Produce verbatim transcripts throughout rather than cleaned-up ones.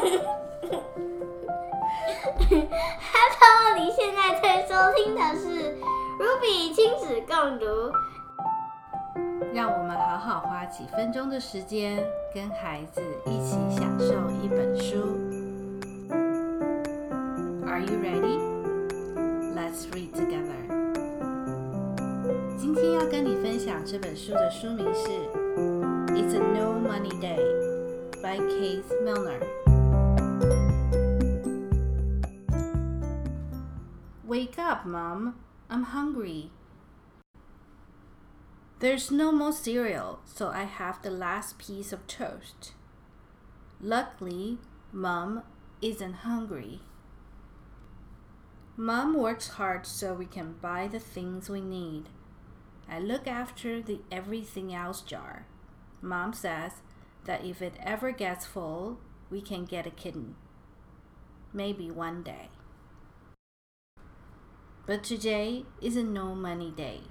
Hello， 你現在在收聽的是 Ruby 親子共讀。 讓我們好好花幾分鐘的時間，跟孩子一起享受一本書。Are you ready? Let's read together. 今天要跟你分享這本書的書名是 It's a No Money Day by Keith Milner.Wake up, Mom. I'm hungry. There's no more cereal, so I have the last piece of toast. Luckily, Mom isn't hungry. Mom works hard so we can buy the things we need. I look after the everything else jar. Mom says that if it ever gets full, we can get a kitten. Maybe one day.But today is a no money day.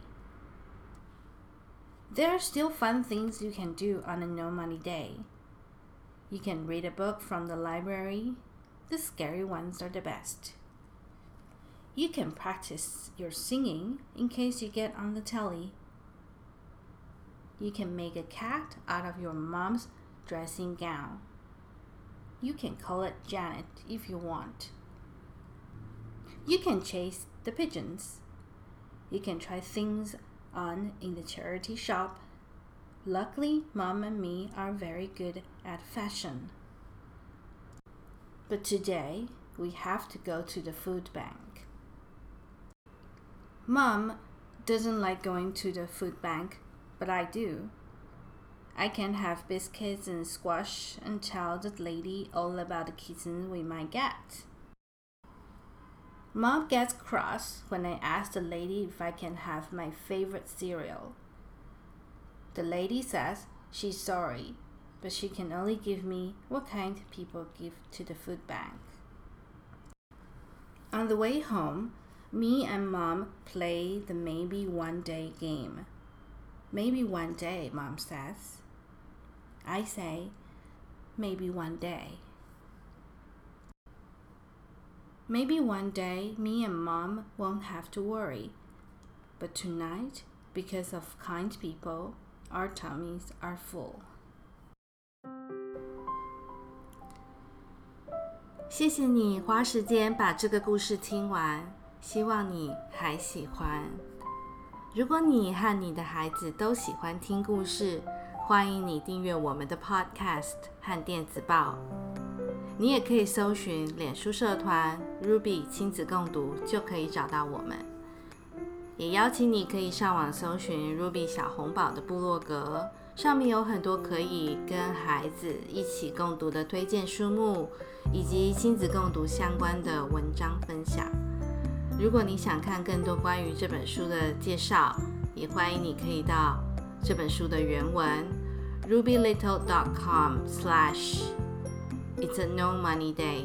There are still fun things you can do on a no money day. You can read a book from the library. The scary ones are the best. You can practice your singing in case you get on the telly. You can make a cat out of your mom's dressing gown. You can call it Janet if you want.You can chase the pigeons. You can try things on in the charity shop. Luckily, Mom and me are very good at fashion. But today, we have to go to the food bank. Mom doesn't like going to the food bank, but I do. I can have biscuits and squash and tell the lady all about the kitten we might get.Mom gets cross when I ask the lady if I can have my favorite cereal. The lady says she's sorry, but she can only give me what kind people give to the food bank. On the way home, me and Mom play the Maybe One Day game. Maybe one day, Mom says. I say, maybe one day.Maybe one day, me and Mom won't have to worry. But tonight, because of kind people, our tummies are full. 謝謝你花時間把這個故事聽完，希望你還喜歡。如果你和你的孩子都喜歡聽故事，歡迎你訂閱我們的 Podcast 和電子報。你也可以搜尋臉書社團 Ruby 親子共讀，就可以找到我們。也邀請你可以上網搜尋 Ruby 小紅寶的部落格，上面有很多可以跟孩子一起共讀的推薦書目，以及親子共讀相關的文章分享。如果你想看更多關於這本書的介紹，也歡迎你可以到這本書的原文 ruby little dot com slash It's a no money day.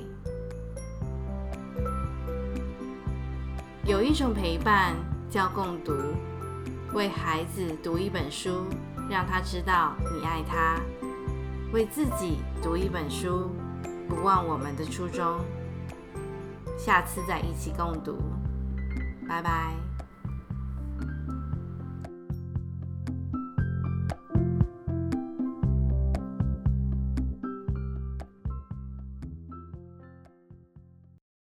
有一種陪伴叫共讀，為孩子讀一本書，讓他知道你愛他；為自己讀一本書，不忘我們的初衷。下次再一起共讀，拜拜。